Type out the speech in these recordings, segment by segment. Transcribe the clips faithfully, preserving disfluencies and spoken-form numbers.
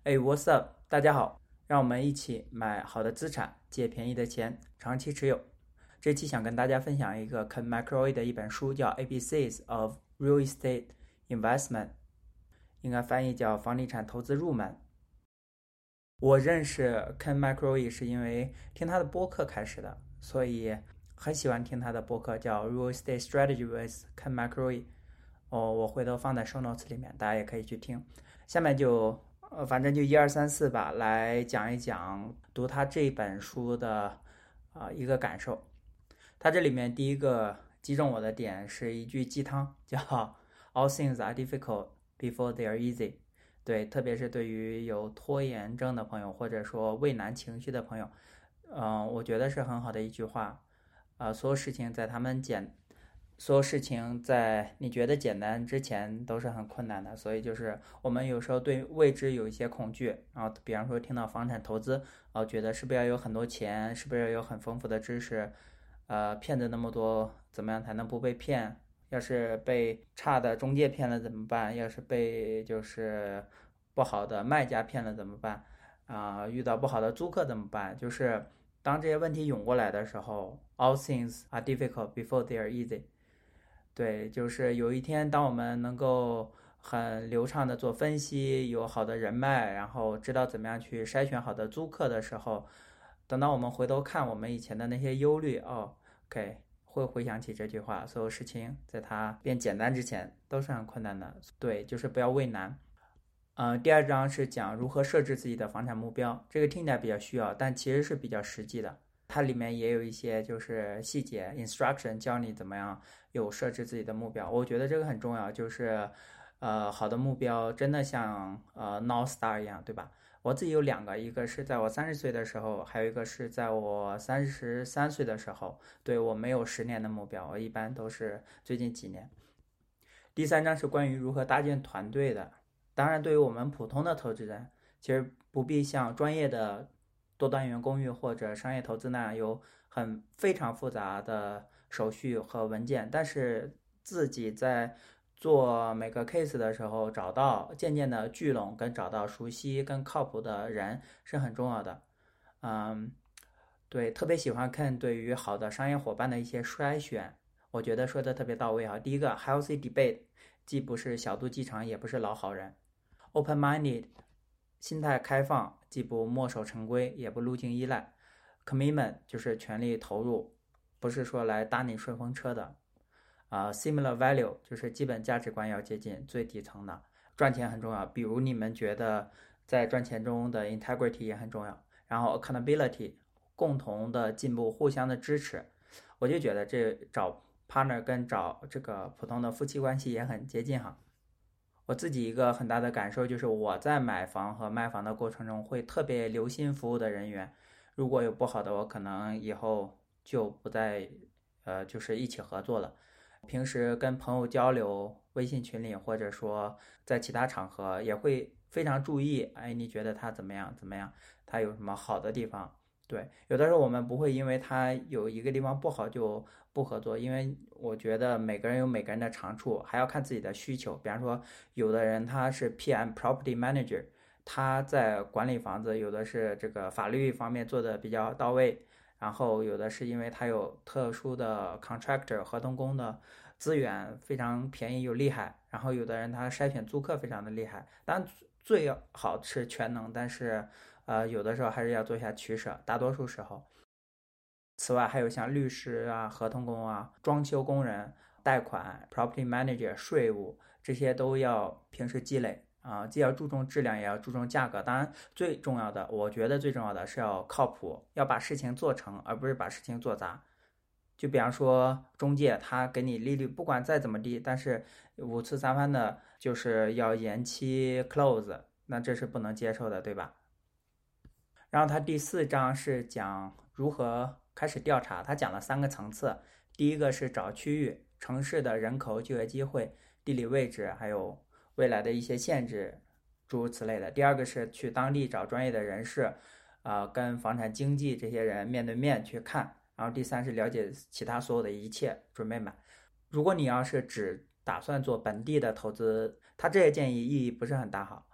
哎，What's up？大家好，让我们一起买好的资产，借便宜的钱，长期持有。这期想跟大家分享一个 Ken McCrory 的一本书，叫《A B Cs of Real Estate Investment》，应该翻译叫《房地产投资入门》。我认识 Ken McCrory 是因为听他的播客开始的，所以很喜欢听他的播客，叫《Real Estate Strategy with Ken McCrory》。哦，我回头放在 show notes 里面，大家也可以去听。下面就呃，反正就一二三四吧，来讲一讲读他这本书的啊、呃、一个感受。他这里面第一个击中我的点是一句鸡汤，叫 "All things are difficult before they are easy"。对，特别是对于有拖延症的朋友，或者说畏难情绪的朋友，嗯、呃，我觉得是很好的一句话。啊、呃，所有事情在他们简所有事情在你觉得简单之前都是很困难的，所以就是我们有时候对未知有一些恐惧，然后比方说听到房产投资，然后觉得是不是要有很多钱，是不是要有很丰富的知识，呃，骗子那么多，怎么样才能不被骗？要是被差的中介骗了怎么办？要是被就是不好的卖家骗了怎么办？啊、呃，遇到不好的租客怎么办？就是当这些问题涌过来的时候 ，all things are difficult before they are easy。对，就是有一天，当我们能够很流畅的做分析，有好的人脉，然后知道怎么样去筛选好的租客的时候，等到我们回头看我们以前的那些忧虑，哦，OK，会回想起这句话，所有事情在它变简单之前都是很困难的。对，就是不要畏难。呃，第二章是讲如何设置自己的房产目标，这个听起来比较需要，但其实是比较实际的。它里面也有一些就是细节 instruction 教你怎么样有设置自己的目标，我觉得这个很重要，就是呃好的目标真的像呃 North Star 一样，对吧？我自己有两个，一个是在我三十岁的时候，还有一个是在我三十三岁的时候。对，我没有十年的目标，我一般都是最近几年。第三章是关于如何搭建团队的。当然，对于我们普通的投资人，其实不必像专业的多单元公寓或者商业投资那样有很非常复杂的手续和文件，但是自己在做每个 case 的时候，找到渐渐的聚拢跟找到熟悉跟靠谱的人是很重要的。嗯，对，特别喜欢看对于好的商业伙伴的一些筛选，我觉得说的特别到位啊。第一个 healthy debate，既不是小肚鸡肠，也不是老好人。open-minded， 心态开放，既不墨守成规，也不路径依赖。commitment 就是全力投入，不是说来搭你顺风车的。啊、呃、，similar value 就是基本价值观要接近最底层的。赚钱很重要，比如你们觉得在赚钱中的 integrity 也很重要。然后 accountability， 共同的进步，互相的支持。我就觉得这找 partner 跟找这个普通的夫妻关系也很接近哈。我自己一个很大的感受就是我在买房和卖房的过程中会特别留心服务的人员，如果有不好的，我可能以后就不再呃就是一起合作了。平时跟朋友交流，微信群里或者说在其他场合也会非常注意，哎，你觉得他怎么样？怎么样？他有什么好的地方？对，有的时候我们不会因为他有一个地方不好就不合作，因为我觉得每个人有每个人的长处，还要看自己的需求。比方说，有的人他是 P M Property Manager，他在管理房子，有的是这个法律方面做的比较到位，然后有的是因为他有特殊的 contractor 合同工的资源非常便宜又厉害，然后有的人他筛选租客非常的厉害。当然最好是全能，但是呃有的时候还是要做一下取舍，大多数时候。此外还有像律师啊、合同工啊、装修工人、贷款、property manager、税务，这些都要平时积累啊，既要注重质量，也要注重价格。当然，最重要的，我觉得最重要的是要靠谱，要把事情做成，而不是把事情做砸。就比方说中介，他给你利率不管再怎么低，但是五次三番的，就是要延期 close，那这是不能接受的，对吧？然后他第四章是讲如何开始调查，他讲了三个层次。第一个是找区域、城市的人口、就业机会、地理位置，还有未来的一些限制，诸如此类的。第二个是去当地找专业的人士，啊、呃，跟房产经纪这些人面对面去看。然后第三是了解其他所有的一切，准备买。如果你要是只打算做本地的投资，他这些建议意义不是很大哈。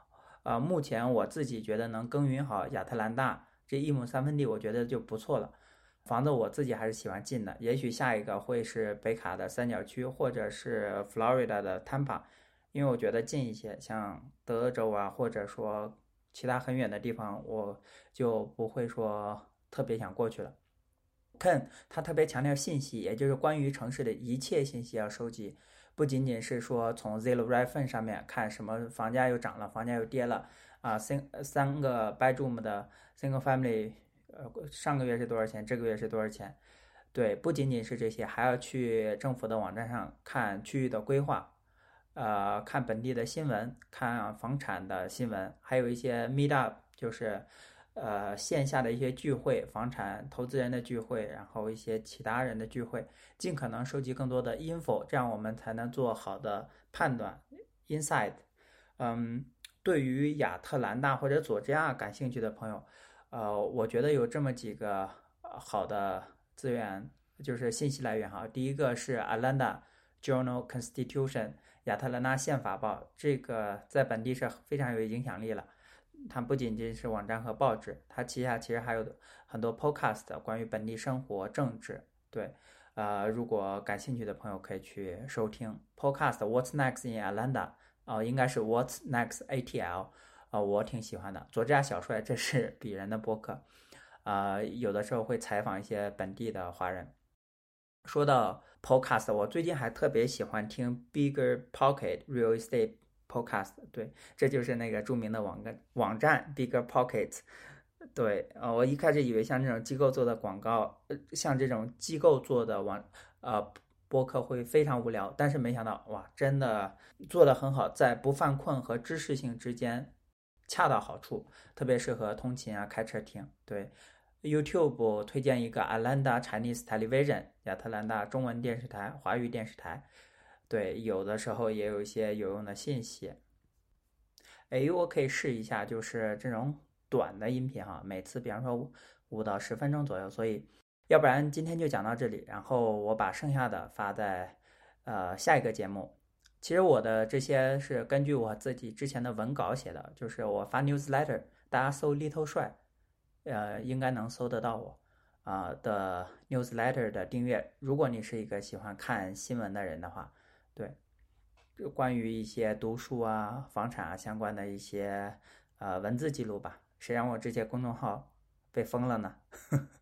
呃，目前我自己觉得能耕耘好亚特兰大这一亩三分地，我觉得就不错了。房子我自己还是喜欢近的，也许下一个会是北卡的三角区，或者是 Florida 的 Tampa，因为我觉得近一些，像德州啊，或者说其他很远的地方，我就不会说特别想过去了。Ken 他特别强调信息，也就是关于城市的一切信息要收集，不仅仅是说从 Zillow Redfin 上面看什么房价又涨了，房价又跌了啊，三三个 bedroom 的 single family，呃，上个月是多少钱，这个月是多少钱？对，不仅仅是这些，还要去政府的网站上看区域的规划，呃，看本地的新闻，看房产的新闻，还有一些 meet up，就是呃线下的一些聚会，房产投资人的聚会，然后一些其他人的聚会，尽可能收集更多的 info，这样我们才能做好的判断 insight。嗯，对于亚特兰大或者佐治亚感兴趣的朋友，呃，我觉得有这么几个好的资源，就是信息来源哈。第一个是 Atlanta Journal Constitution 亚特兰大宪法报，这个在本地是非常有影响力了。它不仅仅是网站和报纸，它旗下其实还有很多 podcast 关于本地生活、政治。对，呃，如果感兴趣的朋友可以去收听 podcast What's Next in Atlanta，哦，应该是 What's Next A T L，啊、呃，我挺喜欢的。佐治亚小帅，这是鄙人的播客，啊、呃，有的时候会采访一些本地的华人。说到 podcast，我最近还特别喜欢听 Bigger Pocket Real Estate Podcast，对，这就是那个著名的网站网站 Bigger Pockets。对，呃，我一开始以为像这种机构做的广告，呃，像这种机构做的网呃播客会非常无聊，但是没想到哇，真的做得很好，在不犯困和知识性之间恰到好处，特别适合通勤啊、开车听。对，YouTube 推荐一个 Atlanta Chinese Television 亚特兰大中文电视台、华语电视台。对，有的时候也有一些有用的信息。哎，我可以试一下，就是这种短的音频哈，每次比方说五到十分钟左右。所以，要不然今天就讲到这里，然后我把剩下的发在呃下一个节目。其实我的这些是根据我自己之前的文稿写的，就是我发 newsletter，大家搜 Little 帅，呃，应该能搜得到我啊、呃、的 newsletter 的订阅。如果你是一个喜欢看新闻的人的话，对。关于一些读书啊、房产啊相关的一些呃文字记录吧。谁让我这些公众号被封了呢？